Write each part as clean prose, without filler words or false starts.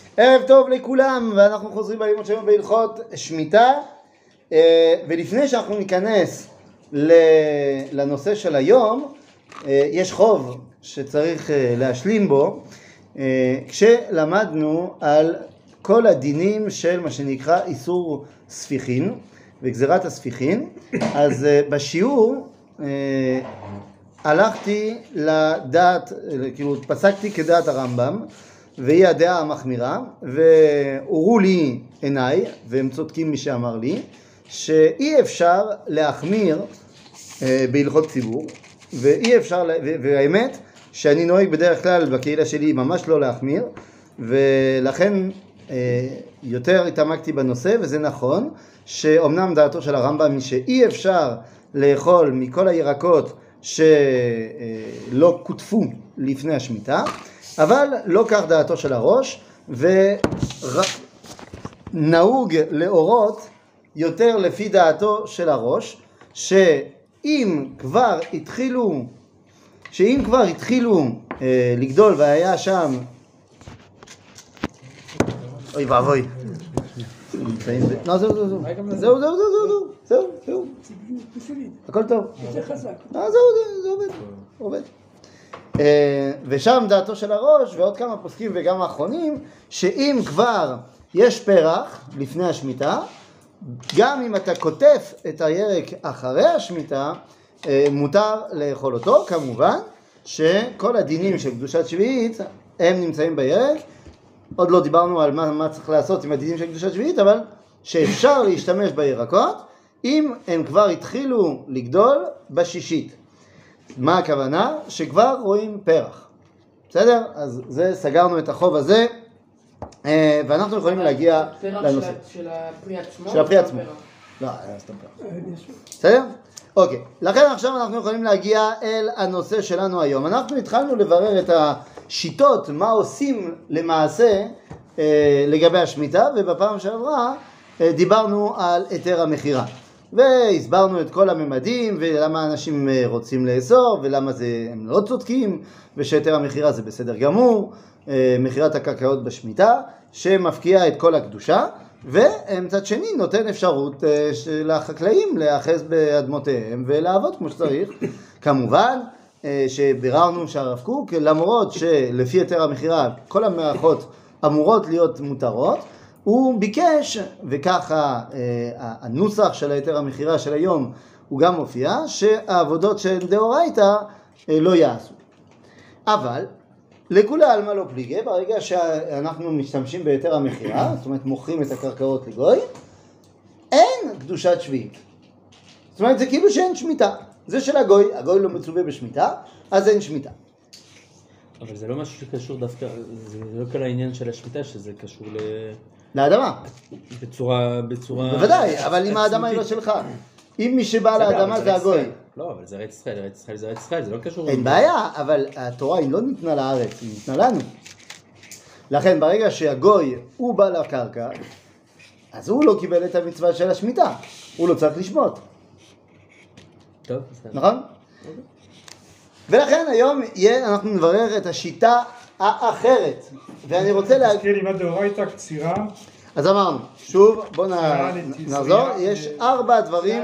ערב טוב לכולם, ואנחנו חוזרים בלימוד שלנו בהלכות שמיטה, ולפני שאנחנו ניכנס לנושא של היום, יש חוב שצריך להשלים בו, כשלמדנו על כל הדינים של מה שנקרא איסור ספיחין וגזירת הספיחין. אז בשיעור הלכתי לדעת, כאילו פסקתי כדעת הרמב"ם, והיא הדעה המחמירה, והורו לי עיניי, והם צודקים מי שאמר לי, שאי אפשר להחמיר בהלכות ציבור, ואי אפשר, והאמת שאני נוהג בדרך כלל בקהילה שלי ממש לא להחמיר, ולכן יותר התעמקתי בנושא, וזה נכון, שאומנם דעתו של הרמב"ם היא שאי אפשר לאכול מכל הירקות שלא כותפו לפני השמיטה, אבל לא כך דעתו של הראש, ונהוג להורות יותר לפי דעתו של הראש, שאם כבר התחילו לגדול והיה שם, אוי ואבוי, זהו, הכל טוב, זה עובד. ושם דעתו של הראש ועוד כמה פוסקים וגם האחרונים, שאם כבר יש פרח לפני השמיטה, גם אם אתה כותף את הירק אחרי השמיטה, מותר לאכול אותו. כמובן שכל הדינים של קדושת שביעית הם נמצאים בירק. עוד לא דיברנו על מה צריך לעשות עם הדינים של קדושת שביעית, אבל שאפשר להשתמש בירקות אם הם כבר התחילו לגדול בשישית. מה הכוונה? שכבר רואים פרח. בסדר? אז זה, סגרנו את החוב הזה, ואנחנו יכולים להגיע לנושא. של הפרי עצמו? של הפרי עצמו. לא, סתם פרח. בסדר? אוקיי. לכן עכשיו אנחנו יכולים להגיע אל הנושא שלנו היום. אנחנו התחלנו לברר את השיטות, מה עושים למעשה לגבי השמיטה, ובפעם שעברה דיברנו על היתר המכירה. והסברנו את כל הממדים, ולמה אנשים רוצים לאסור, ולמה הם לא צודקים, ושהיתר המכירה זה בסדר גמור, מכירת הקרקעות בשמיטה, שמפקיעה את כל הקדושה, ומצד שני נותן אפשרות לחקלאים להאחז באדמותיהם ולעבוד כמו שצריך. כמובן שביררנו שהרב קוק, למרות שלפי היתר המכירה כל המערכות אמורות להיות מותרות, הוא ביקש, וככה הנוסח של היתר המכירה של היום הוא גם מופיע, שהעבודות של דאורייתא לא יעשו. אבל לכולי עלמא לא פליגי, ברגע שאנחנו משתמשים ביתר המכירה, זאת אומרת מוכרים את הקרקעות לגוי, אין קדושת שביעית. זאת אומרת זה כאילו שאין שמיטה. זה של הגוי לא מצווה בשמיטה, אז אין שמיטה. אבל זה לא משהו שקשור דווקא, זה לא כל העניין של השמיטה, שזה קשור לאדמה. בצורה... בוודאי, אבל אם האדמה היא לא שלך. אם מי שבא לאדמה זה הגוי. לא, אבל זה ארץ ישראל, ארץ ישראל זה ארץ ישראל, זה לא קשור... אין בעיה, אבל התורה היא לא ניתנה לארץ, היא ניתנה לנו. לכן ברגע שהגוי הוא בא לקרקע, אז הוא לא קיבל את המצווה של השמיטה. הוא לא צריך לשמוט. טוב, בסדר. נכון? ולכן היום אנחנו נברר את השיטה האחרת. ואני רוצה תזכיר לי מה דאורייתא קצירה. אז אמרנו, שוב, בואו נחזור. יש 4 דברים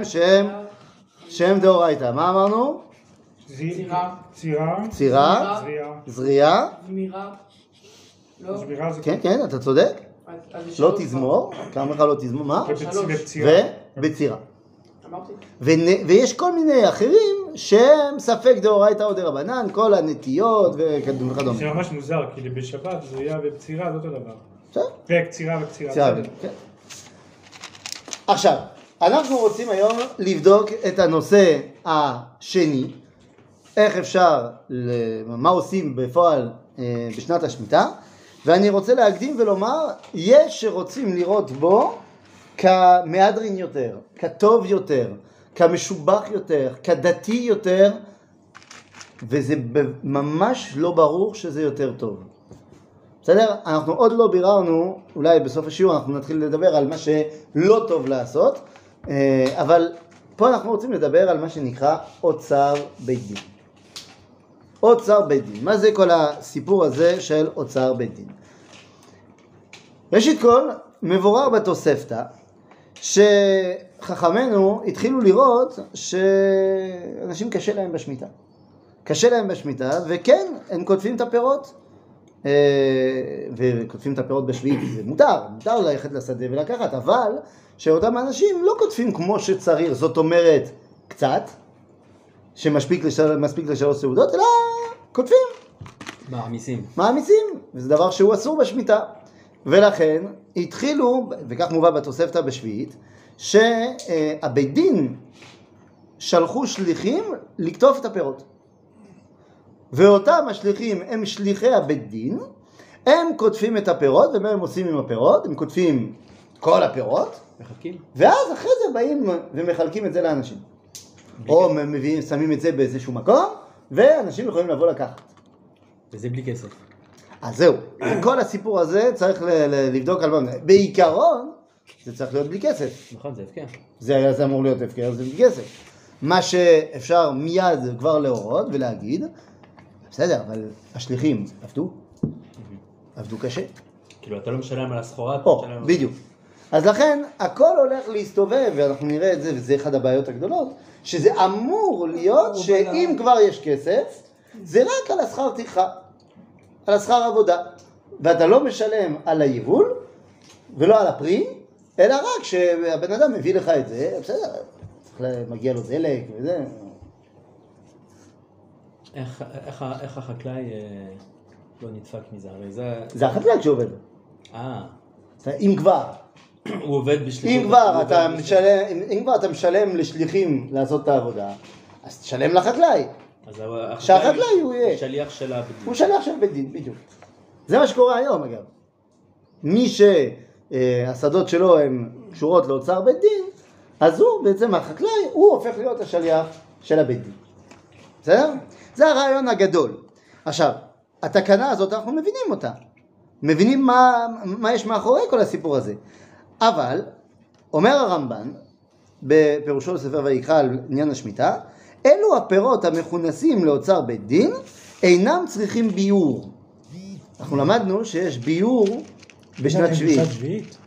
שהם דאורייתא. מה אמרנו? צירה, זריעה, כן, כן, אתה צודק. לא תזמור, כמה לך לא תזמור, מה? ובצירה. ויש כל מיני אחרים שהם ספק דאורייתא או דרבנן, כל הנטיות וכדומה. זה ממש מוזר, כי בשבת זריעה ובצירה זה אותו דבר. וקצירה. כן. עכשיו, אנחנו רוצים היום לבדוק את הנושא השני, איך אפשר, מה עושים בפועל בשנת השמיטה, ואני רוצה להקדים ולומר, יש שרוצים לראות בו כמהדרין יותר, כטוב יותר, כמשובח יותר, כדתי יותר, וזה ממש לא ברור שזה יותר טוב. בסדר? אנחנו עוד לא ביררנו, אולי בסוף השיעור אנחנו נתחיל לדבר על מה שלא טוב לעשות, אבל פה אנחנו רוצים לדבר על מה שנקרא אוצר בית דין. אוצר בית דין. מה זה כל הסיפור הזה של אוצר בית דין? ראשית כל, מבורר בתוספתא, שחכמינו התחילו לראות שאנשים קשה להם בשמיטה. קשה להם בשמיטה, וכן, הם כותבים את הפירות. וכותבים את הפירות בשביעית, זה מותר ללכת לשדה ולקחת, אבל שאותם אנשים לא כותבים כמו שצריך, זאת אומרת קצת, שמספיק לשלוש סעודות, אלא כותבים. מעמיסים, וזה דבר שהוא אסור בשמיטה. ולכן התחילו, וכך מובא בתוספתא בשביעית, שהבית דין שלחו שליחים לקטוף את הפירות. ואותם השליחים הם שליחי הבית דין, הם כותבים את הפירות, ומה הם עושים עם הפירות? הם כותבים כל הפירות, מחלקים. ואז אחרי זה באים ומחלקים את זה לאנשים. או מביאים, שמים את זה באיזשהו מקום, ואנשים יכולים לבוא לקחת. וזה בלי כסף. אז זהו, כל הסיפור הזה צריך לבדוק על מה. בעיקרון, זה צריך להיות בלי כסף. נכון, זה הפקר. זה אמור להיות הפקר, זה בלי כסף. מה שאפשר מיד כבר להורות ולהגיד, בסדר, אבל השליחים עבדו קשה. כאילו, אתה לא משלם על הסחורה, אתה משלם... בדיוק. אז לכן, הכל הולך להסתובב, ואנחנו נראה את זה, וזה אחד הבעיות הגדולות, שזה אמור להיות שאם כבר יש כסף, זה רק על השכר טרחה, על השכר עבודה. ואתה לא משלם על היבול, ולא על הפרי, אלא רק שהבן אדם מביא לך את זה, בסדר, מגיע לו דלק וזה. איך החקלאי לא נדפק מזה? הרי זה החקלאי שעובד. אם כבר. הוא עובד בשליחות. אם כבר אתה משלם לשליחים לעשות את העבודה, אז תשלם לחקלאי. שהחקלאי הוא יהיה. שליח של הבית דין. הוא שליח של בית דין, בדיוק. זה מה שקורה היום אגב. מי שהשדות שלו הן קשורות לאוצר בית דין, אז הוא בעצם החקלאי, הוא הופך להיות השליח של הבית דין. בסדר? זה הרעיון הגדול. עכשיו, התקנה הזאת אנחנו מבינים אותה. מבינים מה יש מאחורי כל הסיפור הזה. אבל, אומר הרמב"ן, בפירושו לספר ויקרא על עניין השמיטה, אלו הפירות המכונסים לאוצר בית דין, אינם צריכים ביור. אנחנו למדנו שיש ביור בשנת שביעית.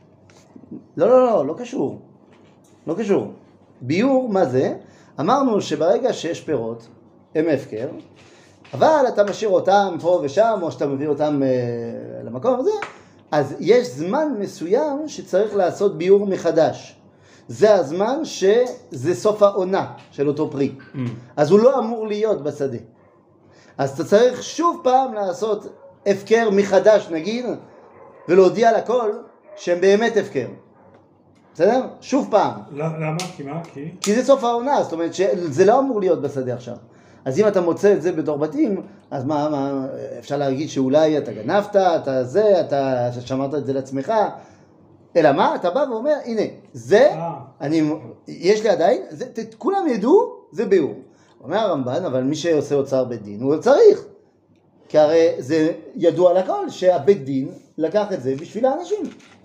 לא קשור. לא קשור. ביור, מה זה? אמרנו שברגע שיש פירות, הם הפקר, אבל אתה משאיר אותם פה ושם, או שאתה מביא אותם למקום הזה, אז יש זמן מסוים שצריך לעשות ביור מחדש. זה הזמן שזה סוף העונה של אותו פרי. אז הוא לא אמור להיות בשדה. אז אתה צריך שוב פעם לעשות הפקר מחדש נגיד, ולהודיע לכל שהם באמת הפקר. בסדר? שוב פעם. למה? כי זה סוף העונה, זאת אומרת שזה לא אמור להיות בשדה עכשיו. אז אם אתה מוצא את זה בתור בתים, אז מה אפשר להגיד שאולי אתה גנבת, אתה שמרת את זה לעצמך, אלא מה? אתה בא ואומר, הנה, זה, יש לי עדיין, כולם ידעו, זה ביור. אומר הרמב"ן, אבל מי שעושה אוצר בית דין, הוא צריך. כי הרי זה ידוע לכל שהבית דין לקח את זה בשביל האנשים.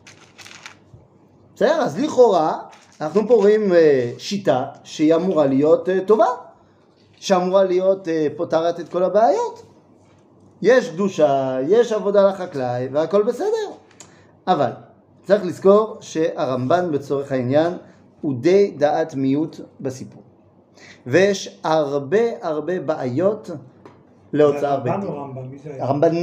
בסדר? אז לכאורה, אנחנו פה רואים שיטה שהיא אמורה להיות טובה, שאמורה להיות פותרת את כל הבעיות. יש קדושה, יש עבודה לחקלאי, והכל בסדר. אבל צריך לזכור שהרמב"ן בצורך העניין הוא די דעת מיעוט בסיפור. ויש הרבה בעיות להוצאה בית דין. הרמב"ן.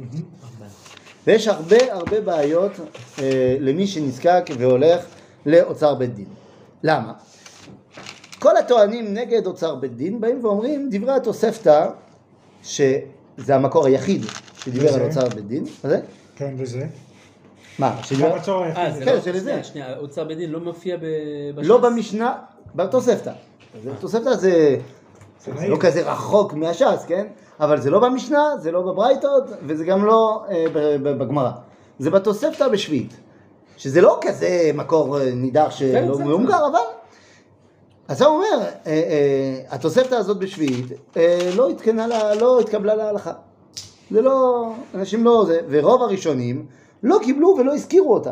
ויש הרבה בעיות למי שנזקק והולך לאוצר בית דין. למה? כל הטוענים נגד אוצר בית דין באים ואומרים דברי התוספתא, שזה המקור היחיד שדיבר על אוצר בית דין. זה? כן, וזה? מה? כן, שלזה. שנייה, אוצר בית דין לא מופיע בש"ס? לא במשנה, בתוספתא. התוספתא זה לא כזה רחוק מהש"ס, כן? אבל זה לא במשנה, זה לא בברייתות, וזה גם לא בגמרא. זה בתוספתא בשביעית. שזה לא כזה מקור נידח שלא מאומגר, אבל... אז הוא אומר, התוספתא הזאת בשביעית לא התקבלה להלכה. זה לא, אנשים לא זה, ורוב הראשונים לא קיבלו ולא הזכירו אותה.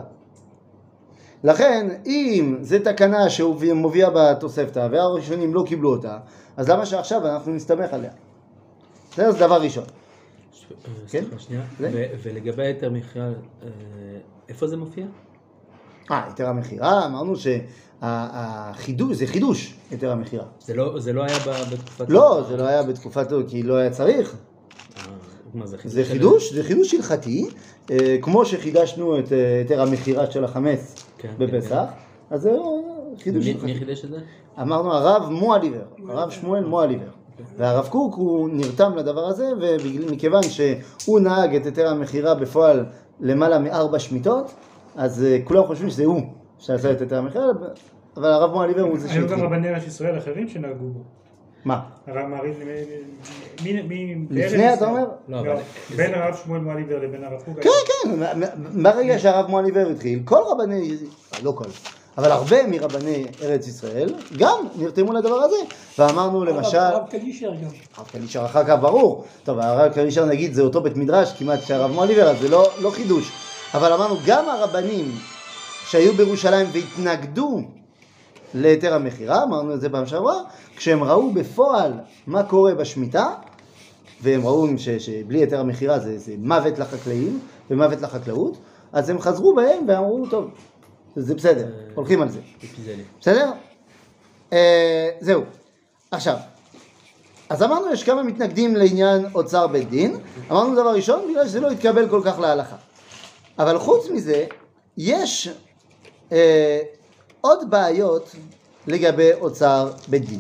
לכן, אם זה תקנה שמוביאה בתוספתא, והראשונים לא קיבלו אותה, אז למה שעכשיו אנחנו נסתמך עליה? זה דבר ראשון. סליחה שנייה. ולגבי היתר מכירה, איפה זה מופיע? היתר המכירה, אמרנו שהחידוש, זה חידוש, היתר המכירה. זה לא היה בתקופת... לא, זה לא היה בתקופתו, כי לא היה צריך. זה חידוש הלכתי, כמו שחידשנו את היתר המכירה של החמץ בפסח, אז זה חידוש הלכתי. מי חידש את זה? אמרנו הרב מועליבר, הרב שמואל מועליבר. והרב קוק הוא נרתם לדבר הזה, ומכיוון שהוא נהג את היתר המכירה בפועל למעלה מ4 שמיטות, אז כולם חושבים שזה הוא שעשה את היתר המכירה, אבל הרב מועליבר הוא זה שהתחיל. היו גם רבני ארץ ישראל אחרים שנהגו בו. מה? הרב מעריד, לפני אתה אומר? לא, בין הרב שמואל מועליבר לבין הרב קוק. כן, ברגע שהרב מועליבר התחיל, כל רבני, לא כל, אבל הרבה מרבני ארץ ישראל גם נרתמו לדבר הזה, ואמרנו למשל... הרב קדישר גם. הרב קדישר אחר כך ברור. טוב, הרב קדישר נגיד זה אותו בית מדרש כמעט שהרב מועליבר, אז זה לא חידוש. אבל אמרנו גם הרבנים שהיו בירושלים והתנגדו ליתר המכירה, אמרנו את זה פעם שעברה, כשהם ראו בפועל מה קורה בשמיטה, והם ראו שבלי היתר המכירה זה מוות לחקלאים ומוות לחקלאות, אז הם חזרו בהם ואמרו, טוב, זה בסדר, הולכים על זה. בסדר? זהו. עכשיו, אז אמרנו יש כמה מתנגדים לעניין אוצר בית דין, אמרנו דבר ראשון, בגלל שזה לא יתקבל כל כך להלכה. אבל חוץ מזה, יש עוד בעיות לגבי אוצר בית דין.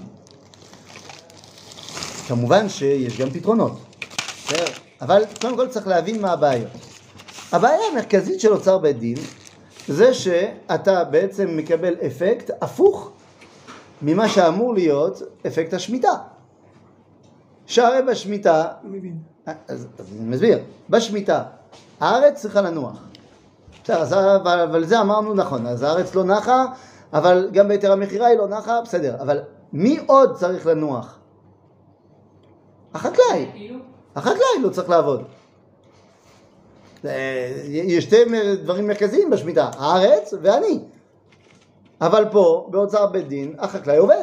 כמובן שיש גם פתרונות, אבל קודם כל צריך להבין מה הבעיות. הבעיה המרכזית של אוצר בית דין, זה שאתה בעצם מקבל אפקט הפוך ממה שאמור להיות אפקט השמיטה. שהרי בשמיטה, אז אני מסביר, בשמיטה, הארץ צריכה לנוח. אבל זה אמרנו נכון, אז הארץ לא נחה, אבל גם ביתר המכירה היא לא נחה, בסדר. אבל מי עוד צריך לנוח? החקלאי. החקלאי לא צריך לעבוד. יש שתי דברים מרכזיים בשמיטה, הארץ ואני. אבל פה, באוצר בית דין, החקלאי עובד.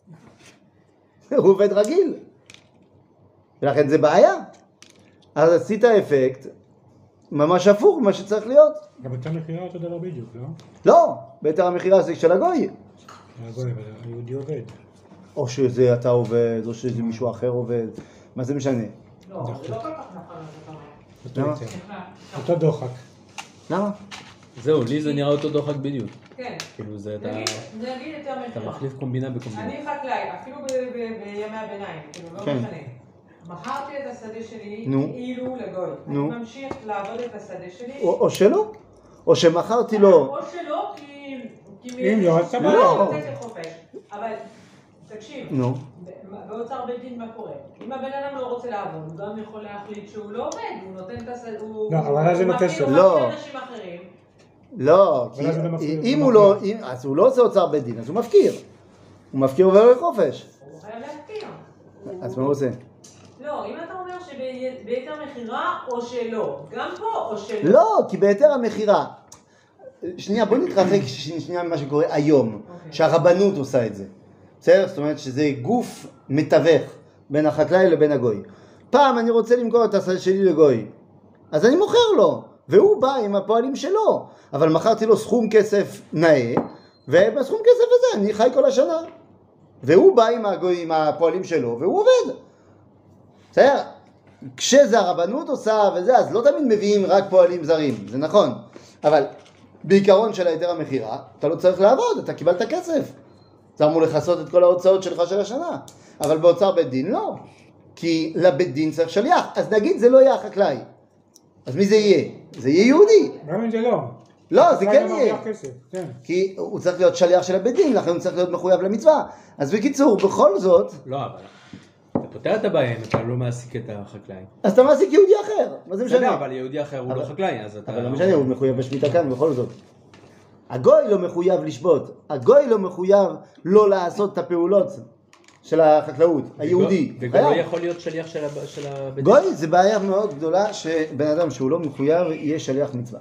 הוא עובד רגיל. ולכן זה בעיה. אז עשית אפקט ממש הפוך ממה שצריך להיות. גם ביתר המכירה אותו דבר בדיוק, לא? לא, ביתר המכירה זה של הגוי. הגוי, אבל היהודי עובד. או שזה אתה עובד, או שזה מישהו אחר עובד. מה זה משנה? לא, זה לא כל כך נכון. אותו דוחק. למה? זהו, לי זה נראה אותו דוחק בדיוק. כן. כאילו זה אתה... נגיד יותר אתה מכירה. מחליף קומבינה בקומבינה. אני חקלאי, אפילו בימי הביניים, כאילו, לא כן. משנה. מכרתי את השדה שלי נו. כאילו לגוי. נו. אני ממשיך לעבוד את השדה שלי. או שלא? או שמכרתי לו... או שלא, כי... אם לא, אז סבבה. לא. אבל תקשיב, נו. באוצר בית דין מה קורה? אם הבן אדם לא רוצה לעבוד, הוא גם יכול להחליט שהוא לא עובד, הוא נותן את השדה, הוא... לא, אבל אז זה נותן הוא לא. מפקיע אנשים אחרים. לא, כי אבל זה לא מפקיע, אם זה הוא לא... אז הוא לא עושה אוצר בית דין, אז הוא מפקיר. הוא מפקיר עובר לחופש. הוא חייב להפקיע. אז מה הוא עושה? לא, אם אתה אומר שביתר מכירה או שלא, גם פה או שלא. לא, כי ביתר המכירה... שנייה, בוא נתרחק שנייה ממה שקורה היום, שהרבנות עושה את זה. בסדר? זאת אומרת שזה גוף מתווך בין החקלאי לבין הגוי. פעם אני רוצה למכור את השדה שלי לגוי, אז אני מוכר לו, והוא בא עם הפועלים שלו, אבל מכרתי לו סכום כסף נאה, ובסכום כסף הזה אני חי כל השנה. והוא בא עם הגוי, עם הפועלים שלו, והוא עובד. בסדר? כשזה הרבנות עושה וזה, אז לא תמיד מביאים רק פועלים זרים, זה נכון. אבל בעיקרון של היתר המכירה, אתה לא צריך לעבוד, אתה קיבלת כסף. זה אמור לכסות את כל ההוצאות שלך של השנה. אבל באוצר בית דין לא. כי לבית דין צריך שליח. אז נגיד זה לא יהיה החקלאי. אז מי זה יהיה? זה יהיה יהודי. גם אם זה לא. לא, זה כן יהיה. כן. כי הוא צריך להיות שליח של הבית דין, לכן הוא צריך להיות מחויב למצווה. אז בקיצור, בכל זאת... לא, אבל... אתה פותר את הבעיה אם אתה לא מעסיק את החקלאי. אז אתה מעסיק יהודי אחר. מה זה משנה? אבל יהודי אחר הוא לא חקלאי, אז אתה... אבל לא משנה, הוא מחויב בשמיטה כאן בכל זאת. הגוי לא מחויב לשבות. הגוי לא מחויב לא לעשות את הפעולות של החקלאות, היהודי. וגם לא יכול להיות שליח של הבית. גוי זה בעיה מאוד גדולה שבן אדם שהוא לא מחויב יהיה שליח מצווה.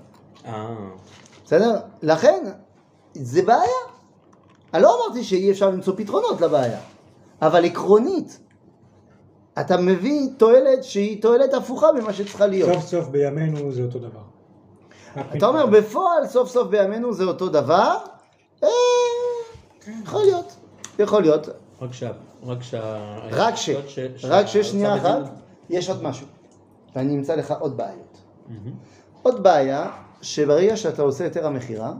בסדר? לכן זה בעיה. אני לא אמרתי שאי אפשר למצוא פתרונות לבעיה, אבל עקרונית אתה מביא תועלת שהיא תועלת הפוכה ממה שצריכה להיות. סוף סוף בימינו זה אותו דבר. אתה אומר בפועל סוף סוף בימינו זה אותו דבר? יכול להיות. יכול להיות. רק ששנייה אחת, יש עוד משהו. ואני אמצא לך עוד בעיות. עוד בעיה, שברגע שאתה עושה יותר המחירה,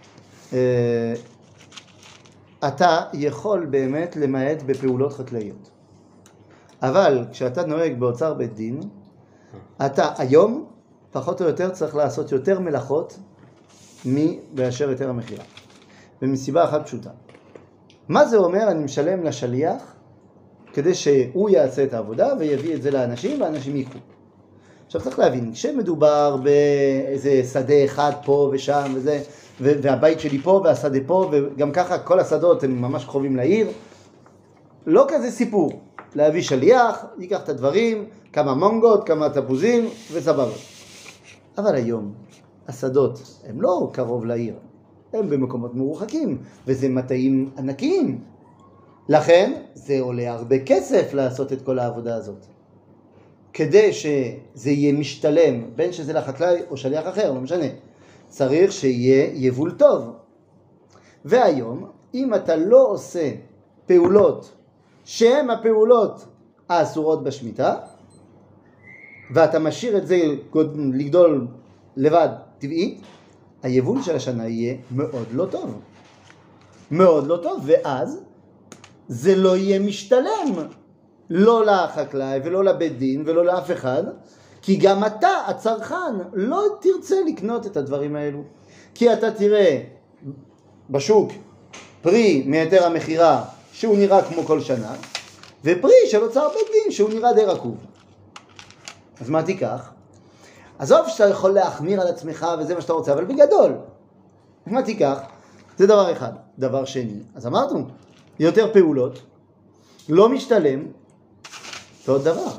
אתה יכול באמת למעט בפעולות חקלאיות. אבל כשאתה נוהג באוצר בית דין, אתה היום פחות או יותר צריך לעשות יותר מלאכות מבאשר יותר המחירה. ומסיבה אחת פשוטה. מה זה אומר? אני משלם לשליח כדי שהוא יעשה את העבודה ויביא את זה לאנשים והאנשים יקחו. עכשיו צריך להבין, כשמדובר באיזה שדה אחד פה ושם וזה, והבית שלי פה והשדה פה, וגם ככה כל השדות הם ממש קרובים לעיר, לא כזה סיפור. להביא שליח, ייקח את הדברים, כמה מונגות, כמה תפוזים וסבבה. אבל היום השדות הם לא קרוב לעיר, הם במקומות מרוחקים, וזה מטעים ענקיים. לכן זה עולה הרבה כסף לעשות את כל העבודה הזאת. כדי שזה יהיה משתלם, בין שזה לחקלאי או שליח אחר, לא משנה. צריך שיהיה יבול טוב. והיום, אם אתה לא עושה פעולות שהן הפעולות האסורות בשמיטה, ואתה משאיר את זה לגדול לבד טבעית, היבול של השנה יהיה מאוד לא טוב. מאוד לא טוב, ואז זה לא יהיה משתלם. לא לחקלאי ולא לבית דין ולא לאף אחד, כי גם אתה, הצרכן, לא תרצה לקנות את הדברים האלו. כי אתה תראה בשוק פרי מהיתר המחירה שהוא נראה כמו כל שנה, ופרי של אוצר בית דין שהוא נראה די רקוב. אז מה תיקח? עזוב שאתה יכול להחמיר על עצמך וזה מה שאתה רוצה, אבל בגדול, מה תיקח? זה דבר אחד. דבר שני, אז אמרנו, יותר פעולות, לא משתלם, זה עוד דבר.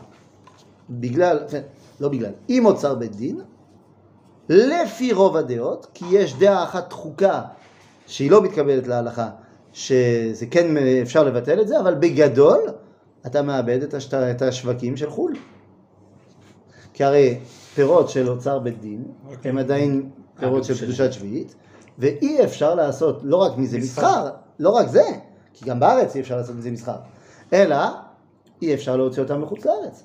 לא בגלל, אם אוצר בית דין, לפי רוב הדעות, כי יש דעה אחת דחוקה שהיא לא מתקבלת להלכה, שזה כן אפשר לבטל את זה, אבל בגדול אתה מאבד את השווקים של חול. כי הרי פירות של אוצר בית דין הם עדיין פירות של קדושת שביעית, ואי אפשר לעשות לא רק מזה מסחר, לא רק זה, כי גם בארץ אי אפשר לעשות מזה מסחר, אלא אי אפשר להוציא אותם מחוץ לארץ.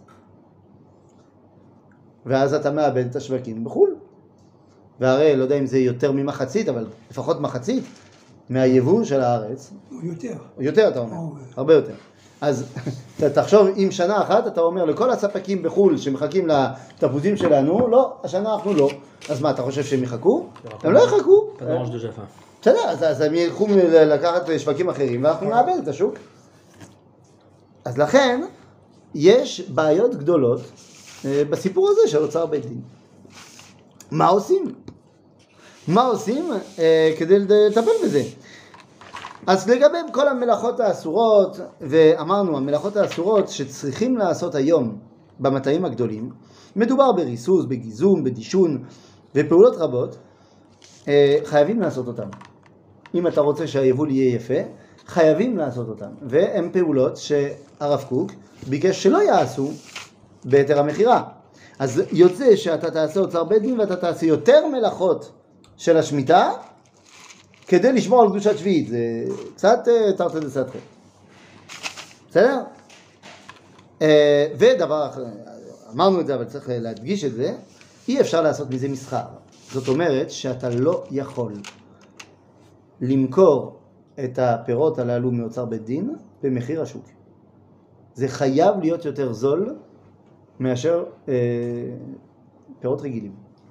ואז אתה מאבד את השווקים בחול. והרי, לא יודע אם זה יותר ממחצית, אבל לפחות מחצית מהיבול של הארץ. יותר אתה אומר, הרבה יותר. אז תחשוב, אם שנה אחת אתה אומר לכל הספקים בחול שמחכים לתפוזים שלנו, לא, השנה אנחנו לא. אז מה, אתה חושב שהם יחכו? הם לא יחכו. בסדר, אז הם ילכו לקחת שווקים אחרים, ואנחנו נאבד את השוק. אז לכן, יש בעיות גדולות בסיפור הזה של אוצר בית דין. מה עושים? מה עושים כדי לטפל בזה? אז לגבי כל המלאכות האסורות, ואמרנו, המלאכות האסורות שצריכים לעשות היום במטעים הגדולים, מדובר בריסוס, בגיזום, בדישון, ופעולות רבות, חייבים לעשות אותם. אם אתה רוצה שהיבול יהיה יפה, חייבים לעשות אותם. והן פעולות שהרב קוק ביקש שלא יעשו בהיתר המחירה. אז יוצא שאתה תעשה אוצר בית דין ואתה תעשה יותר מלאכות של השמיטה, כדי לשמור על קדושת שביעית. זה קצת תרתי דסתרי. בסדר? ודבר אחר, אמרנו את זה אבל צריך להדגיש את זה, אי אפשר לעשות מזה מסחר. זאת אומרת שאתה לא יכול למכור את הפירות הללו מאוצר בית דין במחיר השוק. זה חייב להיות יותר זול מאשר פירות רגילים.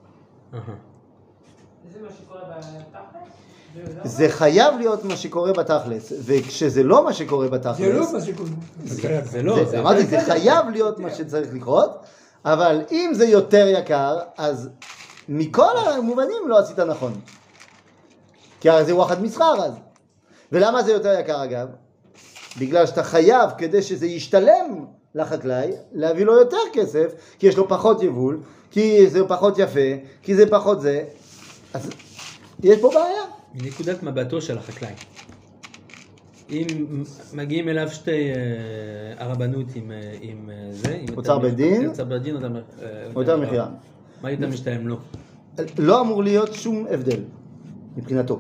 זה מה שקורה בתכלס? זה חייב להיות מה שקורה בתכלס, וכשזה לא מה שקורה בתכלס... זה לא מה שקורה. זה לא. אמרתי, זה חייב להיות מה שצריך לקרות, אבל אם זה יותר יקר, אז מכל המובנים לא עשית נכון. כי הרי זה וואחד מסחר אז. ולמה זה יותר יקר אגב? בגלל שאתה חייב, כדי שזה ישתלם לחקלאי, להביא לו יותר כסף, כי יש לו פחות יבול, כי זה פחות יפה, כי זה פחות זה. אז יש פה בעיה. מנקודת מבטו של החקלאי. אם מגיעים אליו שתי הרבנות עם זה, עם אוצר בית דין, אוצר בית דין או יותר מכירה. מה יותר משתלם לו? לא אמור להיות שום הבדל מבחינתו.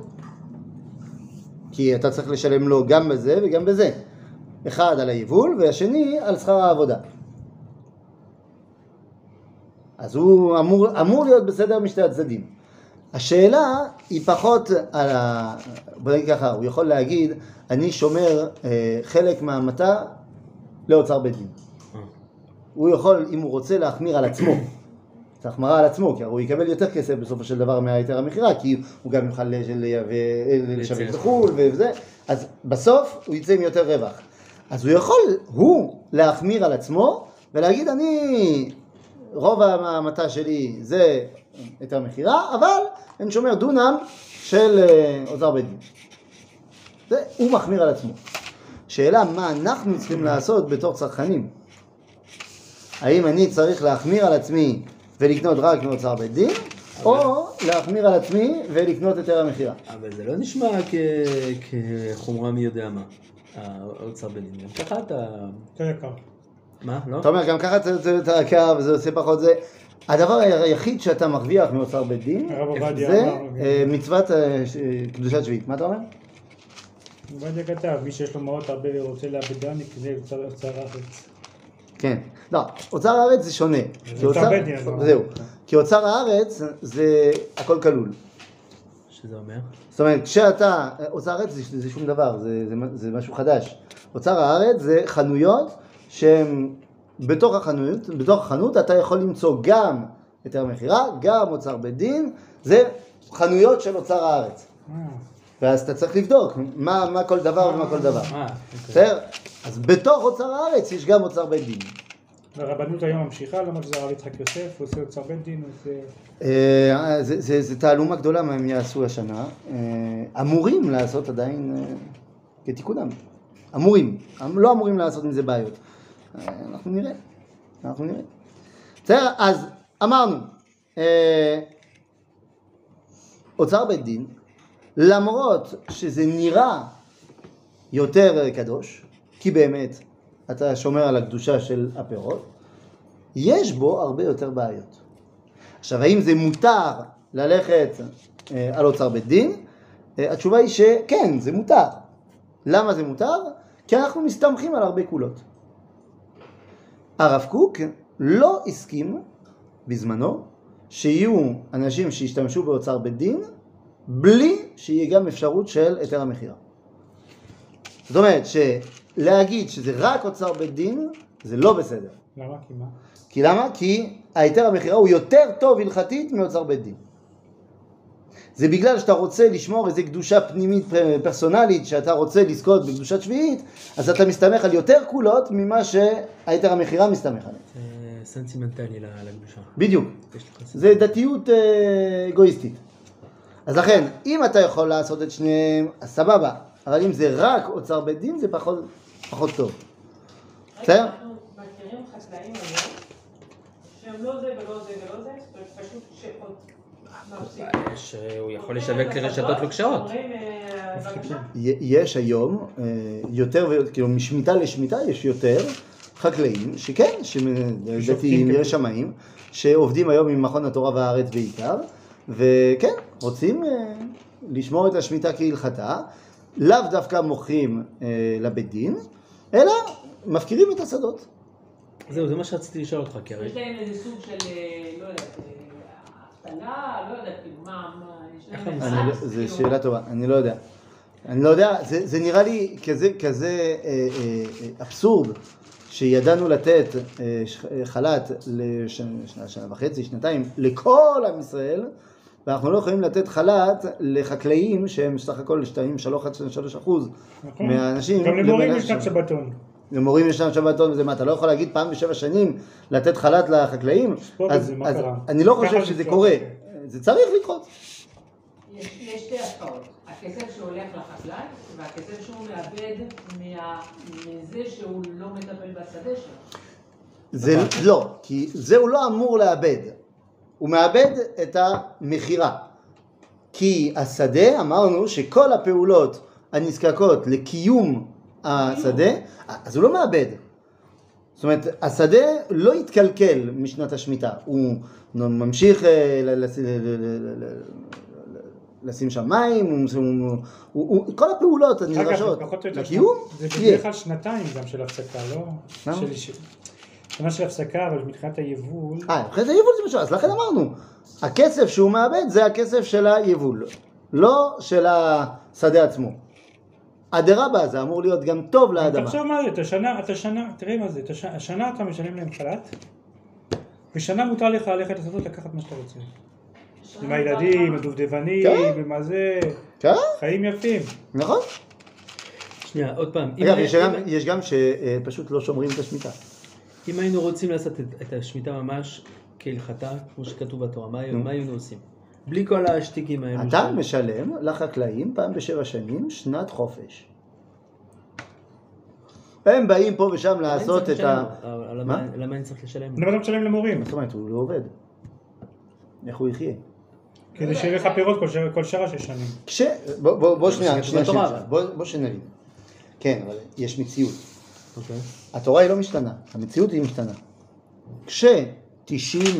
כי אתה צריך לשלם לו גם בזה וגם בזה. אחד על היבול והשני על שכר העבודה. אז הוא אמור להיות בסדר משתי הצדדים. השאלה היא פחות על בוא נגיד ככה, הוא יכול להגיד, אני שומר חלק מהמתה לאוצר בית דין. הוא יכול, אם הוא רוצה, להחמיר על עצמו. זה החמרה על עצמו, כי הוא יקבל יותר כסף בסופו של דבר מהיתר המכירה, כי הוא גם יוכל לשווק בחו"ל וזה. אז בסוף הוא יצא עם יותר רווח. אז הוא יכול, להחמיר על עצמו ולהגיד, רוב המתה שלי זה היתר מכירה, אבל אני שומר דונם של אוצר בית דין. הוא מחמיר על עצמו. שאלה, מה אנחנו צריכים לעשות בתור צרכנים? האם אני צריך להחמיר על עצמי ולקנות רק מאוצר בית דין, או להחמיר על עצמי ולקנות היתר המכירה? אבל זה לא נשמע כחומרה מי יודע מה, האוצר בית דין. גם ככה אתה... יותר יקר. מה? לא? אתה אומר, גם ככה אתה יקר וזה עושה פחות זה. הדבר היחיד שאתה מרוויח מאוצר בית דין, זה מצוות קדושת שביעית. מה אתה אומר? עובדיה כתב, מי שיש לו מעות הרבה ורוצה לאבדן, יקנה אוצר הארץ. כן. לא, אוצר הארץ זה שונה. אוצר בית דין. זהו. כי אוצר הארץ זה הכל כלול. שזה אומר? זאת אומרת, כשאתה, אוצר הארץ זה שום דבר, זה משהו חדש. אוצר הארץ זה חנויות שהן בתוך החנות אתה יכול למצוא גם היתר מכירה, גם אוצר בית דין, זה חנויות של אוצר הארץ. ואז אתה צריך לבדוק מה כל דבר ומה כל דבר. בסדר? אז בתוך אוצר הארץ יש גם אוצר בית דין. והרבנות היום ממשיכה, למרות שזה הרב יצחק יוסף, הוא עושה אוצר בית דין, זה תעלומה גדולה מה הם יעשו השנה. אמורים לעשות עדיין כתיקונם. אמורים. לא אמורים לעשות עם זה בעיות. אנחנו נראה. בסדר? אז אמרנו, אוצר בית דין, למרות שזה נראה יותר קדוש, כי באמת אתה שומר על הקדושה של הפירות, יש בו הרבה יותר בעיות. עכשיו, האם זה מותר ללכת על אוצר בית דין? התשובה היא שכן, זה מותר. למה זה מותר? כי אנחנו מסתמכים על הרבה קולות. הרב קוק לא הסכים בזמנו שיהיו אנשים שישתמשו באוצר בית דין בלי שיהיה גם אפשרות של היתר המכירה. זאת אומרת שלהגיד שזה רק אוצר בית דין זה לא בסדר. למה? כי מה? למה? כי ההיתר המכירה הוא יותר טוב הלכתית מאוצר בית דין. זה בגלל שאתה רוצה לשמור איזו קדושה פנימית פרסונלית, שאתה רוצה לזכות בקדושת שביעית, אז אתה מסתמך על יותר קולות ממה שהיתר המכירה מסתמך עליהם. זה סנטימנטלי לקדושה. בדיוק. זה דתיות אגואיסטית. אז לכן, אם אתה יכול לעשות את שניהם, אז סבבה. אבל אם זה רק אוצר בית דין, זה פחות טוב. בסדר? אנחנו מכירים חקלאים היום, שהם לא זה ולא זה ולא זה, פשוט שעוד מפסיק. שהוא יכול לשווק לרשתות לא קשרות. יש היום יותר, כאילו משמיטה לשמיטה יש יותר חקלאים שכן, דתיים, יש שמאים, שעובדים היום עם מכון התורה והארץ בעיקר, וכן, רוצים לשמור את השמיטה כהלכתה, לאו דווקא מוכרים לבית דין, אלא מפקירים את השדות. זהו, זה מה שרציתי לשאול אותך, כי הרי... יש להם איזה סוג של, לא יודעת, אבטלה, לא יודעת, כאילו, מה, זו שאלה טובה, אני לא יודע, זה נראה לי כזה אבסורד, שידענו לתת חל"ת לשנה וחצי, שנתיים, לכל עם ישראל, ואנחנו לא יכולים לתת חל"ת לחקלאים שהם סך הכל 2-3% מהאנשים. גם למורים ישנם שבתון. למורים ישנם שבתון וזה מה, אתה לא יכול להגיד פעם ב7 שנים לתת חל"ת לחקלאים? אז אני לא חושב שזה קורה, זה צריך לקרות. יש שתי השפעות, הכסף שהולך לחקלאי והכסף שהוא מאבד מזה שהוא לא מטפל בשדה שלו. לא, כי זה הוא לא אמור לאבד. הוא מאבד את המחירה. כי השדה, אמרנו שכל הפעולות הנזקקות לקיום השדה, אז הוא לא מאבד. זאת אומרת, השדה לא יתקלקל משנת השמיטה, הוא ממשיך לשים שם מים, כל הפעולות הנדרשות לקיום. זה בדרך כלל שנתיים גם של הפסקה, לא? שנה של הפסקה, אבל מבחינת היבול... מבחינת היבול זה משהו, אז לכן אמרנו, הכסף שהוא מאבד זה הכסף של היבול, לא של השדה עצמו. אדרבה זה אמור להיות גם טוב לאדמה. תחשוב מה זה, תראה מה זה, השנה אתה משלם להם חל"ת, ושנה מותר לך ללכת לשדות לקחת מה שאתה רוצה. עם הילדים, הדובדבנים, ומה זה, חיים יפים. נכון. שנייה, עוד פעם. אגב, יש גם שפשוט לא שומרים את השמיטה. אם היינו רוצים לעשות את השמיטה ממש כהלכתה, כמו שכתוב בתורה, מה היינו עושים? בלי כל השטיקים האלו. אתה משלם לחקלאים פעם ב7 שנים שנת חופש. הם באים פה ושם לעשות את ה... למה אני צריך לשלם? למה אתה משלם למורים? זאת אומרת, הוא לא עובד. איך הוא יחיה? כדי שיהיה לך פירות כל שעה 6 שנים. בוא שנבין. כן, אבל יש מציאות. התורה היא לא משתנה, המציאות היא משתנה. כש-96%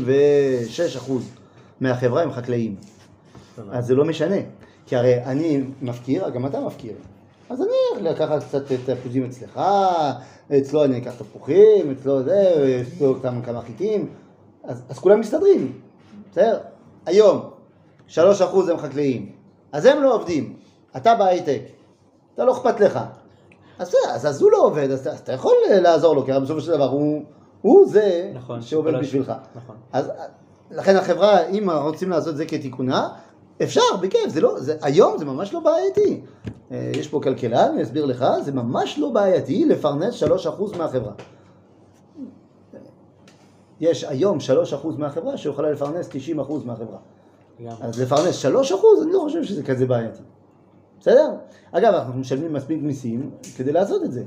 מהחברה הם חקלאים, אז זה לא משנה. כי הרי אני מפקיר, גם אתה מפקיר. אז אני לקחת קצת תפוזים אצלך, אצלו אני אקח תפוחים, אצלו זה, אצלו כמה חיטים, אז כולם מסתדרים. בסדר? היום 3% הם חקלאים, אז הם לא עובדים, אתה בהייטק, אתה לא אכפת לך. אז הוא לא עובד, אז אתה יכול לעזור לו, כי בסופו של דבר הוא זה נכון, שעובד בשבילך. נכון. אז לכן החברה, אם רוצים לעשות את זה כתיקונה, אפשר, בכיף, היום זה ממש לא בעייתי. יש פה כלכלן, אני אסביר לך, זה ממש לא בעייתי לפרנס 3% מהחברה. יש היום 3% מהחברה שיכולה לפרנס 90% מהחברה. אז לפרנס 3%, אני לא חושב שזה כזה בעייתי. בסדר? אגב, אנחנו משלמים מספיק מיסים כדי לעשות את זה.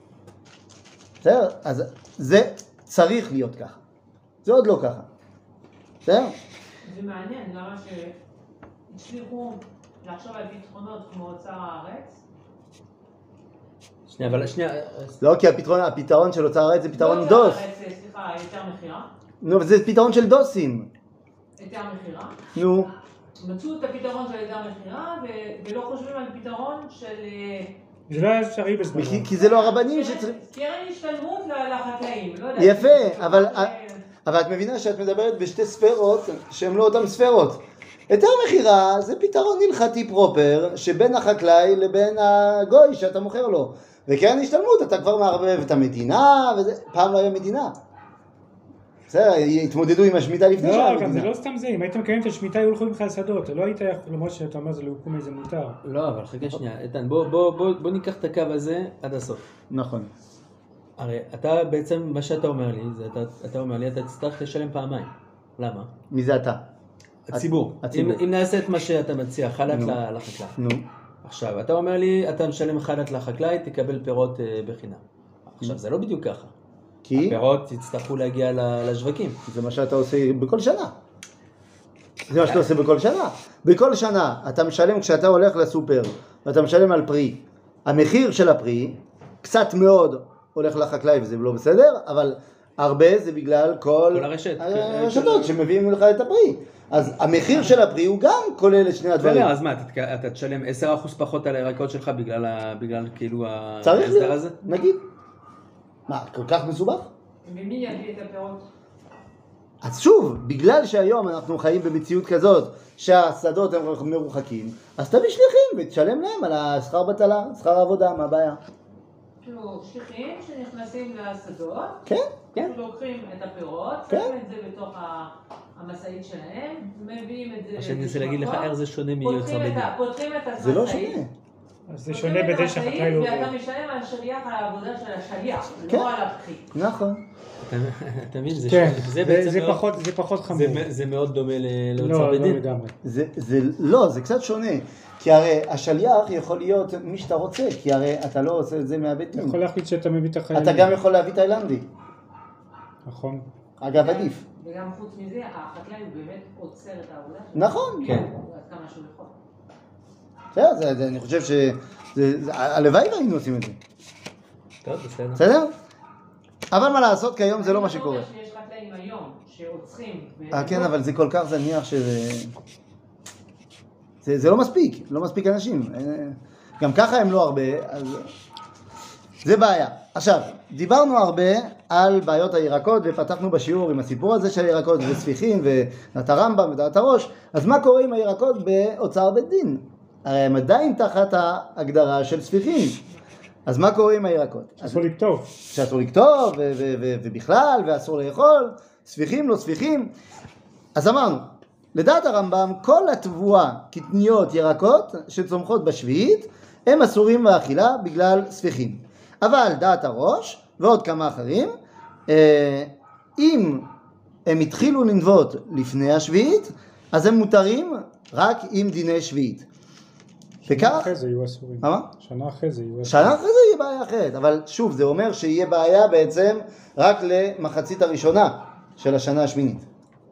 בסדר? אז זה צריך להיות ככה. זה עוד לא ככה. בסדר? זה מעניין, למה שהצליחו לחשוב על פתרונות כמו אוצר הארץ? שנייה, אבל שנייה... לא, כי הפתרון של אוצר הארץ זה פתרון דוס. סליחה, היתר מחירה? נו, זה פתרון של דוסים. היתר מחירה? נו. מצאו את הפתרון של היתר מחירה ולא חושבים על פתרון של... זה לא היה אפשרי בזמן. כי זה לא הרבנים שצריכים... קרן השתלמות לחקלאים, לא יודע. יפה, אבל את מבינה שאת מדברת בשתי ספרות שהן לא אותן ספרות. היתר מחירה זה פתרון הלכתי פרופר שבין החקלאי לבין הגוי שאתה מוכר לו. וקרן השתלמות אתה כבר מערבב את המדינה, וזה פעם לא היה מדינה. בסדר, התמודדו עם השמיטה לפני שעה המדינה. לא, זה לא סתם זה, אם היית מקיים את השמיטה היו הולכים לך לשדות, לא היית יכול, למרות שאתה אומר זה להוקום איזה מותר. לא, אבל חכה שנייה, איתן, בוא ניקח את הקו הזה עד הסוף. נכון. הרי אתה בעצם, מה שאתה אומר לי, אתה אומר לי, אתה תצטרך לשלם פעמיים. למה? מי זה אתה? הציבור. אם נעשה את מה שאתה מציע, חלק לחקלאי. נו. עכשיו, אתה אומר לי, אתה משלם חלק לחקלאי, תקבל פירות בחינם. עכשיו, זה לא בדיוק ככה. כי? הפירות יצטרכו להגיע לשווקים. זה מה שאתה עושה בכל שנה. זה מה שאתה עושה בכל שנה. בכל שנה אתה משלם כשאתה הולך לסופר, ואתה משלם על פרי. המחיר של הפרי, קצת מאוד הולך לחקלאי וזה לא בסדר, אבל הרבה זה בגלל כל הרשתות שמביאים לך את הפרי. אז המחיר של הפרי הוא גם כולל את שני הדברים. אז מה, אתה תשלם 10% פחות על הירקות שלך בגלל כאילו ההסדר הזה? נגיד. מה, כל כך מסובך? ומי יביא את הפירות? אז שוב, בגלל שהיום אנחנו חיים במציאות כזאת שהשדות הם מרוחקים, אז תביא שליחים ותשלם להם על השכר בטלה, שכר העבודה, מה הבעיה? כאילו, שליחים שנכנסים לשדות, כן. לוקחים את הפירות, שמים את זה בתוך המשאית שלהם, מביאים את זה... מה שאני רוצה להגיד לך, איך זה שונה מיוצר בדין. פותחים את המשאית. זה לא שונה. אז זה שונה בזה שהחקלאי לא... ואתה משלם על השליח, על העבודה של השליח, לא על הפחי. נכון. אתה מבין? זה פחות חמור. זה מאוד דומה לאוצר בדין. לא לגמרי. לא, זה קצת שונה. כי הרי השליח יכול להיות מי שאתה רוצה, כי הרי אתה לא עושה את זה מהבית דין. אתה יכול להחליט שאתה מביא את החיילים. אתה גם יכול להביא תאילנדי. נכון. אגב, עדיף. וגם חוץ מזה, החקלאי הוא באמת עוצר את העבודה. נכון. כן. עד כמה שהוא יכול. בסדר, אני חושב הלוואי והיינו עושים את זה. טוב, בסדר. בסדר? אבל מה לעשות, כיום זה לא מה שקורה. שיש חקלאים היום שעוצרים. כן, אבל זה כל כך זניח שזה... זה לא מספיק, לא מספיק אנשים. גם ככה הם לא הרבה, אז... זה בעיה. עכשיו, דיברנו הרבה על בעיות הירקות, ופתחנו בשיעור עם הסיפור הזה של הירקות וספיחין, ודעת הרמב"ם ודעת הראש. אז מה קורה עם הירקות באוצר בית דין? הרי הם עדיין תחת ההגדרה של ספיחין. אז מה קורה עם הירקות? אסור לכתוב. שאסור לכתוב, ובכלל, ואסור לאכול, ספיחים, לא ספיחים. אז אמרנו, לדעת הרמב"ם, כל התבואה, קטניות, ירקות, שצומחות בשביעית, הם אסורים באכילה בגלל ספיחים. אבל דעת הראש, ועוד כמה אחרים, אם הם התחילו לנבוט לפני השביעית, אז הם מותרים רק עם דיני שביעית. שנה אחרי זה יהיו אסורים. מה? שנה אחרי זה יהיו אסורים. שנה אחרי זה יהיה בעיה אחרת, אבל שוב, זה אומר שיהיה בעיה בעצם רק למחצית הראשונה של השנה השמינית.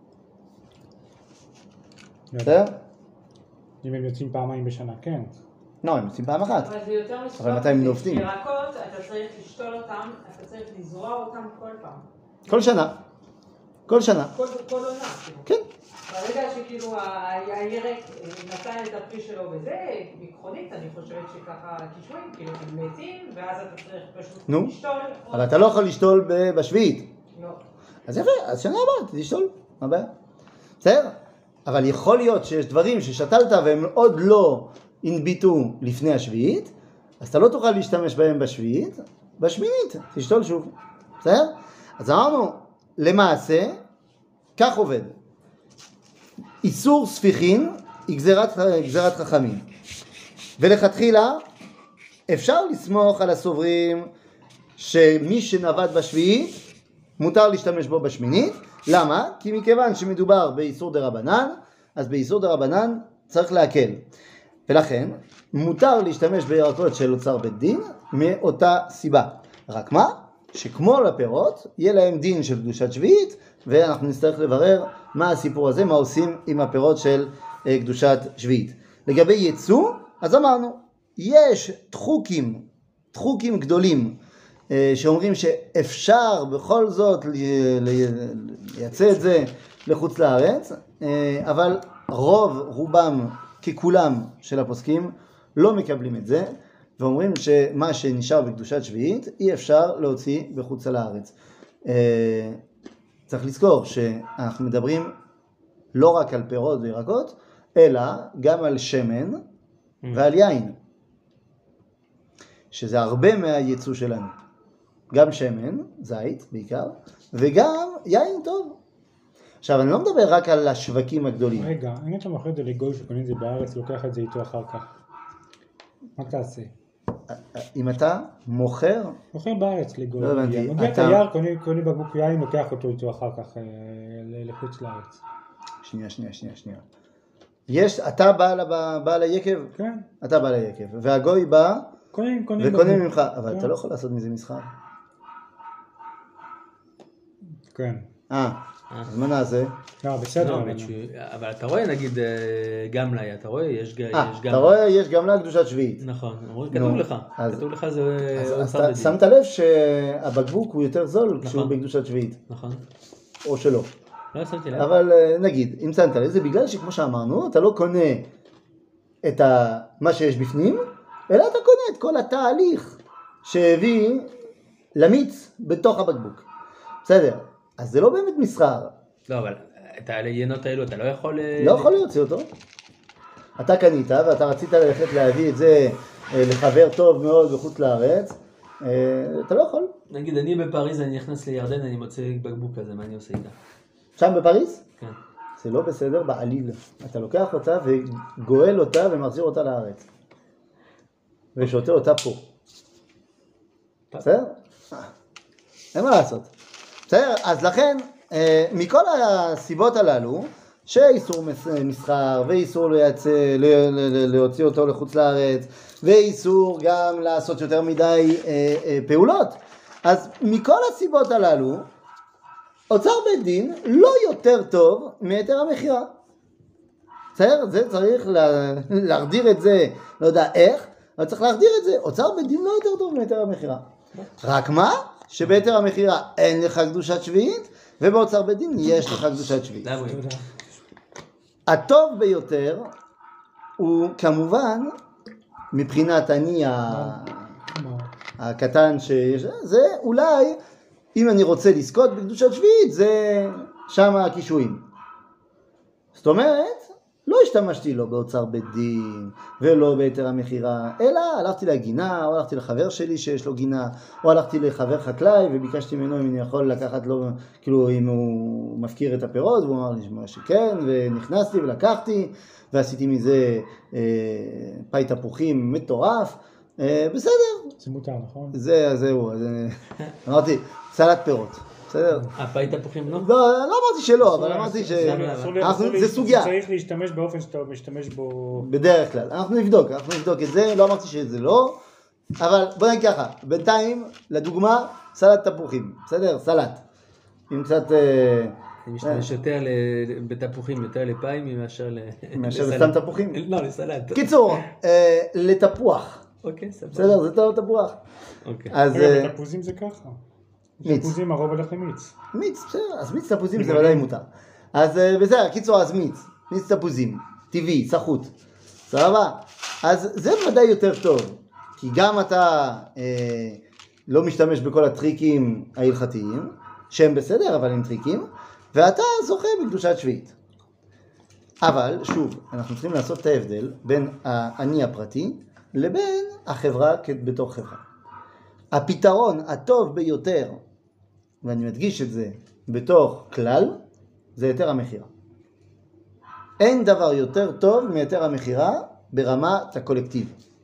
בסדר? אם הם יוצאים פעמיים בשנה, כן. לא, הם יוצאים פעם אחת. אבל זה יותר מסוכן. אבל מתי הם נובטים? ירקות, אתה צריך לשתול אותם, אתה צריך לזרוע אותם כל פעם. כל שנה. כל שנה. כל עונה. כן. ברגע שכאילו הירק נתן את הפרי שלו וזה, ביטחונית, אני חושבת שככה קישואים, כאילו הם מתים, ואז אתה צריך פשוט לשתול. אבל אתה לא יכול לשתול בשביעית. לא. אז יפה, אז שנה הבאה, תשתול. מה הבעיה? בסדר? אבל יכול להיות שיש דברים ששתלת והם עוד לא הנביטו לפני השביעית, אז אתה לא תוכל להשתמש בהם בשביעית, בשמינית, תשתול שוב. בסדר? אז אמרנו, למעשה, כך עובד. איסור ספיחין היא גזירת חכמים. ולכתחילה, אפשר לסמוך על הסוברים שמי שנבט בשביעית, מותר להשתמש בו בשמינית. למה? כי מכיוון שמדובר באיסור דרבנן, אז באיסור דרבנן צריך להקל. ולכן, מותר להשתמש בירקות של אוצר בית דין מאותה סיבה. רק מה? שכמו לפירות, יהיה להם דין של קדושת שביעית, ואנחנו נצטרך לברר מה הסיפור הזה, מה עושים עם הפירות של קדושת שביעית. לגבי ייצוא, אז אמרנו, יש תחוקים גדולים, שאומרים שאפשר בכל זאת לייצא את זה לחוץ לארץ, אבל רובם ככולם של הפוסקים לא מקבלים את זה, ואומרים שמה שנשאר בקדושת שביעית אי אפשר להוציא בחוץ לארץ. צריך לזכור שאנחנו מדברים לא רק על פירות וירקות, אלא גם על שמן ועל יין, שזה הרבה מהייצוא שלנו. גם שמן, זית בעיקר, וגם יין טוב. עכשיו, אני לא מדבר רק על השווקים הגדולים. רגע, אם אתה מוכר את זה לגוי שקונים את זה בארץ, לוקח את זה איתו אחר כך. מה תעשה? אם אתה מוכר... מוכר בארץ לגוי. לא הבנתי. מגיע את היער, קונה בקבוק יין, לוקח אותו איתו אחר כך לחוץ לארץ. שנייה. אתה בעל היקב? כן. אתה בעל היקב. והגוי בא וקונה ממך. אבל כן. אתה לא יכול לעשות מזה מסחר. כן. אז מה נעשה? לא, בסדר. אבל אתה רואה נגיד גמלה, אתה רואה יש גמלה. אתה רואה יש גמלה קדושת שביעית. נכון, כתוב לך זה... אז שמת לב שהבקבוק הוא יותר זול כשהוא בקדושת שביעית. נכון. או שלא. לא שמתי לב. אבל נגיד, אם שמת לב, זה בגלל שכמו שאמרנו, אתה לא קונה את מה שיש בפנים, אלא אתה קונה את כל התהליך שהביא למיץ בתוך הבקבוק. בסדר. אז זה לא באמת מסחר. לא, אבל את העיינות האלו אתה לא יכול... לא יכול להוציא אותו. אתה קנית ואתה רצית ללכת להביא את זה לחבר טוב מאוד בחוץ לארץ, אתה לא יכול. נגיד אני בפריז, אני נכנס לירדן, אני מוצא בקבוק כזה, מה אני עושה איתה? שם בפריז? כן. זה לא בסדר בעליל. אתה לוקח אותה וגואל אותה ומחזיר אותה לארץ. ושותה אותה פה. בסדר? אין מה לעשות. בסדר? אז לכן, מכל הסיבות הללו, שאיסור מסחר, ואיסור להוציא אותו לחוץ לארץ, ואיסור גם לעשות יותר מדי פעולות, אז מכל הסיבות הללו, אוצר בית דין לא יותר טוב מהיתר המכירה. בסדר? זה צריך להגדיר את זה, לא יודע איך, אבל צריך להחדיר את זה. אוצר בית דין לא יותר טוב מהיתר המכירה. רק מה? שבהיתר המכירה אין לך קדושת שביעית, ובאוצר בית דין יש לך קדושת שביעית. הטוב ביותר הוא כמובן, מבחינת אני הקטן שיש, זה אולי, אם אני רוצה לזכות בקדושת שביעית, זה שם הקישואים. זאת אומרת, לא השתמשתי לא באוצר בית דין ולא בהיתר המכירה, אלא הלכתי לגינה, או הלכתי לחבר שלי שיש לו גינה, או הלכתי לחבר חקלאי וביקשתי ממנו אם אני יכול לקחת לו, כאילו אם הוא מפקיר את הפירות, והוא אמר לי שכן, ונכנסתי ולקחתי, ועשיתי מזה פי תפוחים מטורף, בסדר. זה מותר, נכון? זהו, אמרתי, סלט פירות. בסדר? הפי תפוחים לא? לא אמרתי שלא, אבל אמרתי שזה סוגיה. צריך להשתמש באופן שאתה משתמש בו... בדרך כלל. אנחנו נבדוק את זה, לא אמרתי שזה לא, אבל בוא נגיד ככה, בינתיים, לדוגמה, סלט תפוחים, בסדר? סלט. עם קצת... אני משתמש יותר בתפוחים, יותר לפיים מאשר לסתם תפוחים? לא, לסלט. קיצור, לתפוח. אוקיי, סבבה. בסדר, זה טוב תפוח. אוקיי. בתפוזים זה ככה. תפוזים הרוב הולך למיץ. מיץ, בסדר, אז מיץ תפוזים זה ודאי מותר. אז בסדר, קיצור, אז מיץ תפוזים, טבעי, סחוט, סבבה? אז זה ודאי יותר טוב, כי גם אתה לא משתמש בכל הטריקים ההלכתיים, שהם בסדר, אבל הם טריקים, ואתה זוכה בקדושת שביעית. אבל, שוב, אנחנו צריכים לעשות את ההבדל בין האני הפרטי לבין החברה בתוך חברה. הפתרון הטוב ביותר, ואני מדגיש את זה בתוך כלל, זה היתר המכירה. אין דבר יותר טוב מהיתר המכירה ברמת הקולקטיב.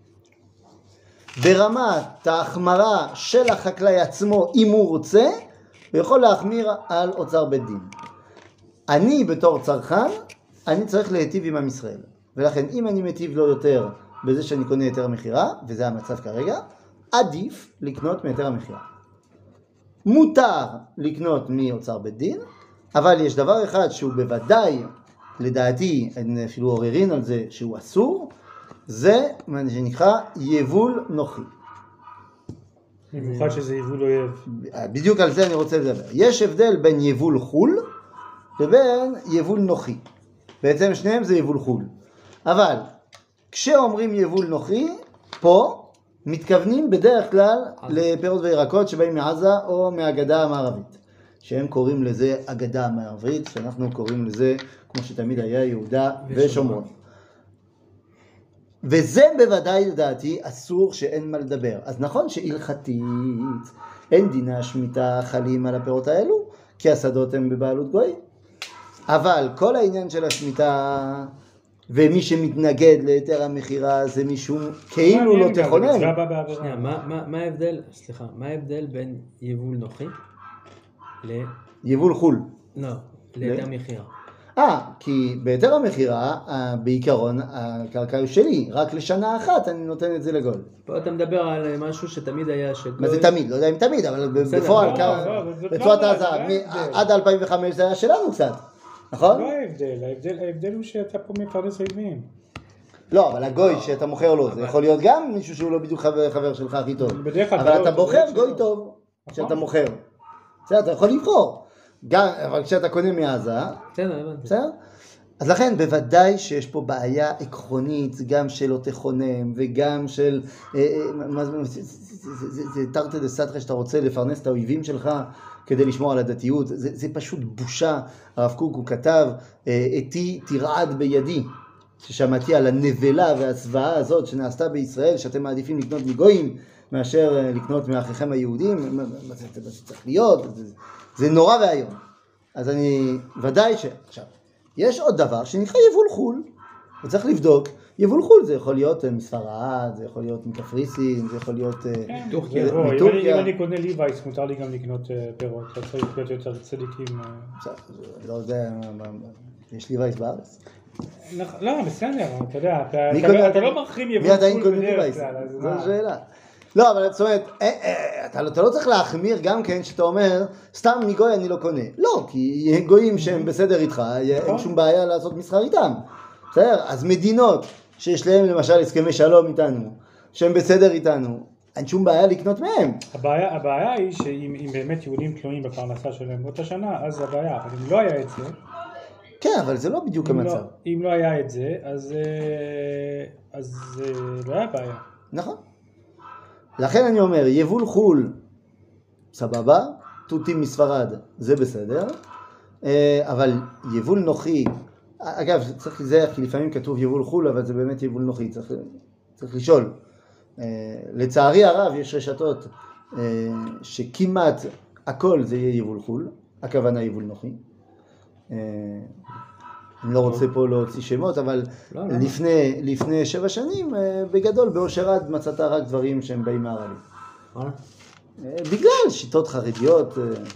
ברמת ההחמרה של החקלאי עצמו, אם הוא רוצה, הוא יכול להחמיר על אוצר בית דין. אני בתור צרכן, אני צריך להיטיב עם עם ישראל. ולכן אם אני מטיב לו יותר בזה שאני קונה היתר המכירה, וזה המצב כרגע, עדיף לקנות מהיתר המכירה. מותר לקנות מאוצר בית דין, אבל יש דבר אחד שהוא בוודאי, לדעתי, אין אפילו עוררין על זה שהוא אסור, זה מה שנקרא יבול נוחי. במיוחד שזה יבול אויב. בדיוק על זה אני רוצה לדבר. יש הבדל בין יבול חול לבין יבול נוחי. בעצם שניהם זה יבול חול. אבל כשאומרים יבול נוחי, פה מתכוונים בדרך כלל לפירות וירקות שבאים מעזה או מהגדה המערבית. שהם קוראים לזה הגדה המערבית, שאנחנו קוראים לזה, כמו שתמיד היה, יהודה ושומרון. וזה בוודאי לדעתי אסור שאין מה לדבר. אז נכון שהלכתית אין דיני השמיטה חלים על הפירות האלו, כי השדות הם בבעלות גוי. אבל כל העניין של השמיטה, ומי שמתנגד ליתר המכירה זה מישהו כאילו לא תכונן. שנייה, מה ההבדל בין יבול נוחי יבול חול? לא, ליתר מכירה. כי ביתר המכירה, בעיקרון, הקרקע היא שלי, רק לשנה אחת אני נותן את זה לגול. פה אתה מדבר על משהו שתמיד היה מה זה תמיד? לא יודע אם תמיד, אבל בפועל, בצורת העזה, עד 2005 זה היה שלנו קצת, נכון? לא ההבדל הוא שאתה פה מפרנס אויבים. לא, אבל הגוי שאתה מוכר לו, זה יכול להיות גם מישהו שהוא לא בדיוק חבר שלך הכי טוב. אבל אתה בוחר גוי טוב שאתה מוכר. אתה יכול לבחור. גם, אבל כשאתה קונה מעזה, בסדר? אז לכן בוודאי שיש פה בעיה עקרונית, גם של לא תכונן, וגם של, זה תרתי דסתרי שאתה רוצה לפרנס את האויבים שלך כדי לשמור על הדתיות, זה פשוט בושה. הרב קוק הוא כתב, אתי תרעד בידי, ששמעתי על הנבלה והזוועה הזאת שנעשתה בישראל, שאתם מעדיפים לקנות מגויים, מאשר לקנות מאחיכם היהודים, מה זה צריך להיות? זה נורא והיום. אז אני ודאי עכשיו, יש עוד דבר שנקרא יבול חול, וצריך לבדוק. יבול חול זה יכול להיות מספרד, זה יכול להיות מקפריסין, זה יכול להיות מטורקיה. אם אני קונה ליווייס, מותר לי גם לקנות פירות, אתה צריך להיות יותר צדיקים. לא יודע, יש ליווייס בארץ? לא, בסדר, אתה יודע, אתה לא מרחיב יבול חול בדרך כלל. זו השאלה. לא, אבל זאת אומרת, אתה לא צריך להחמיר גם כן שאתה אומר, סתם מגוי אני לא קונה. לא, כי גויים שהם בסדר איתך, אין שום בעיה לעשות מסחר איתם. בסדר? אז מדינות שיש להם למשל הסכמי שלום איתנו, שהם בסדר איתנו, אין שום בעיה לקנות מהם. הבעיה היא שאם באמת יהודים תלויים בפרנסה שלהם באותה שנה, אז זה הבעיה, אבל אם לא היה את זה... כן, אבל זה לא בדיוק המצב. אם לא היה את זה, אז לא היה בעיה. נכון. לכן אני אומר, יבול חול, סבבה, תותים מספרד, זה בסדר, אבל יבול נוחי, אגב, צריך לזהר, כי לפעמים כתוב יבול חול, אבל זה באמת יבול נוחי, צריך לשאול. לצערי הרב, יש רשתות שכמעט הכל זה יהיה יבול חול, הכוונה יבול נוחי. אני לא רוצה פה להוציא שמות, אבל לפני 7 שנים, בגדול, באושרד מצאת רק דברים שהם באים מערבים. בגלל שיטות חרדיות.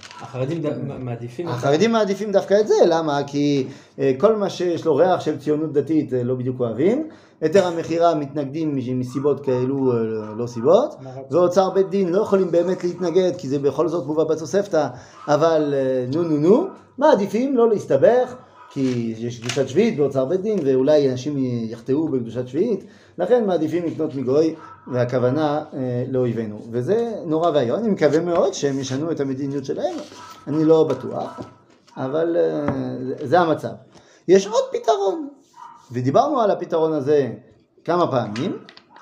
החרדים מעדיפים דווקא את זה, למה? כי כל מה שיש לו ריח של ציונות דתית לא בדיוק אוהבים, יותר המחירה מתנגדים מסיבות כאלו לא סיבות, ואוצר בית דין לא יכולים באמת להתנגד, כי זה בכל זאת מובא בתוספתא, אבל נו, מעדיפים לא להסתבך, כי יש קדושת שביעית באוצר בית דין, ואולי אנשים יחטאו בקדושת שביעית, לכן מעדיפים לקנות מגוי, והכוונה לאויבינו. וזה נורא ואיום, אני מקווה מאוד שהם ישנו את המדיניות שלהם, אני לא בטוח, אבל זה המצב. יש עוד פתרון, ודיברנו על הפתרון הזה כמה פעמים,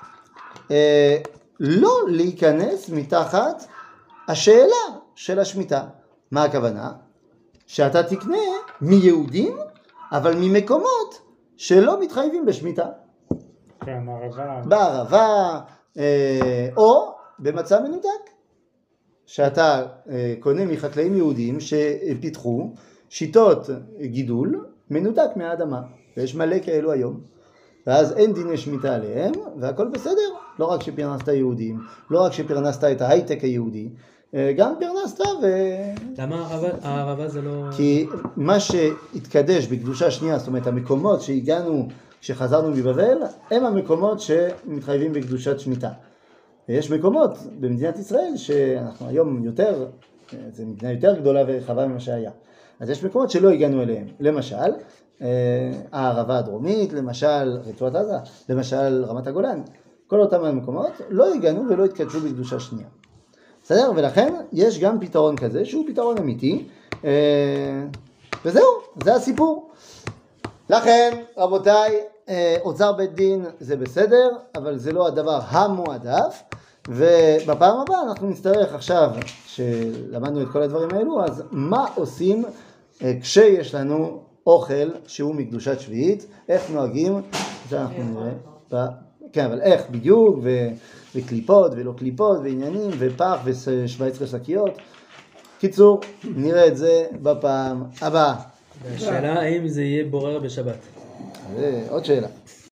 לא להיכנס מתחת השאלה של השמיטה. מה הכוונה? שאתה תקנה מיהודים, אבל ממקומות שלא מתחייבים בשמיטה. כן, בערבה, או במצע מנותק. שאתה קונה מחקלאים יהודים שפיתחו שיטות גידול מנותק מהאדמה. ויש מלא כאלו היום. ואז אין דיני שמיטה עליהם, והכל בסדר. לא רק שפרנסת יהודים, לא רק שפרנסת את ההייטק היהודי, גם פרנסת למה הערבה זה לא... כי מה שהתקדש בקדושה שנייה, זאת אומרת המקומות שהגענו כשחזרנו מבבל, הם המקומות שמתחייבים בקדושת שמיטה. ויש מקומות במדינת ישראל שאנחנו היום יותר, זו מדינה יותר גדולה ורחבה ממה שהיה. אז יש מקומות שלא הגענו אליהם. למשל, הערבה הדרומית, למשל רצועת עזה, למשל רמת הגולן. כל אותם המקומות לא הגענו ולא התקדשו בקדושה שנייה. בסדר? ולכן יש גם פתרון כזה שהוא פתרון אמיתי, וזהו, זה הסיפור. לכן, רבותיי, אוצר בית דין זה בסדר, אבל זה לא הדבר המועדף, ובפעם הבאה אנחנו נצטרך עכשיו, שלמדנו את כל הדברים האלו, אז מה עושים כשיש לנו אוכל שהוא מקדושת שביעית, איך נוהגים, זה אנחנו נראה, כן, אבל איך בדיוק, וקליפות ולא קליפות, ועניינים, ופח ו17 שקיות. קיצור, נראה את זה בפעם הבאה. השאלה האם זה יהיה בורר בשבת. זה עוד שאלה.